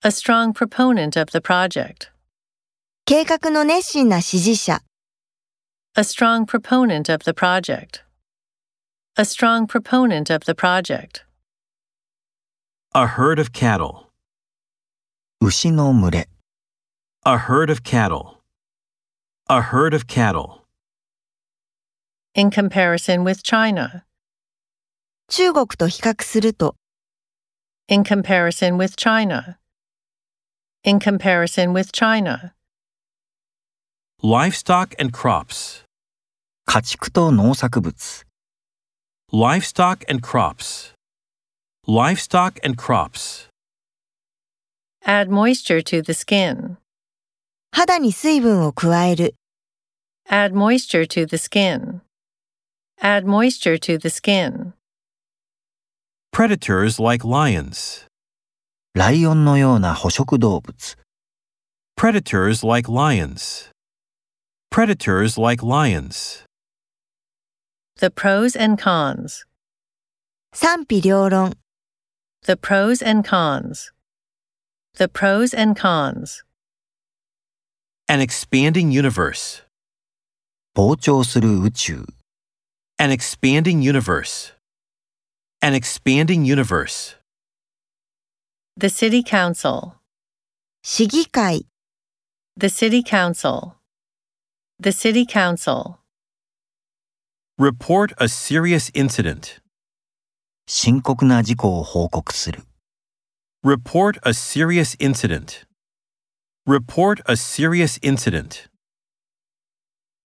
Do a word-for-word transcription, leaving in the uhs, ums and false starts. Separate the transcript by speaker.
Speaker 1: A strong proponent of the project.
Speaker 2: 計画の熱心な支持者。
Speaker 1: A strong proponent of the project. A strong proponent of the project.
Speaker 3: A herd of cattle.
Speaker 4: 牛の群れ。
Speaker 3: A herd of cattle. A herd of cattle.
Speaker 1: In comparison with China.
Speaker 2: 中国と比較すると。
Speaker 1: In comparison with China. In comparison with China.
Speaker 3: Livestock and crops.
Speaker 4: 家畜と農作物。
Speaker 3: Livestock and crops. Livestock and crops.
Speaker 1: Add moisture to the skin.
Speaker 2: 肌に水分を加える。
Speaker 1: Add moisture to the skin. Add moisture to the skin.
Speaker 3: Predators like lions.
Speaker 4: ライオンのような捕食動物。
Speaker 3: Predators like lions. Predators like lions.
Speaker 1: The pros and cons.
Speaker 2: 賛否両論。
Speaker 1: The pros and cons. The pros and cons.
Speaker 3: An expanding universe.
Speaker 4: 膨張する宇宙。
Speaker 3: An expanding universe. An expanding universe.
Speaker 1: The city council.
Speaker 2: 市議会。
Speaker 1: The city council. The city council.
Speaker 3: Report a serious incident.
Speaker 4: 深刻な事故を報告する。
Speaker 3: Report a serious incident. Report a serious incident.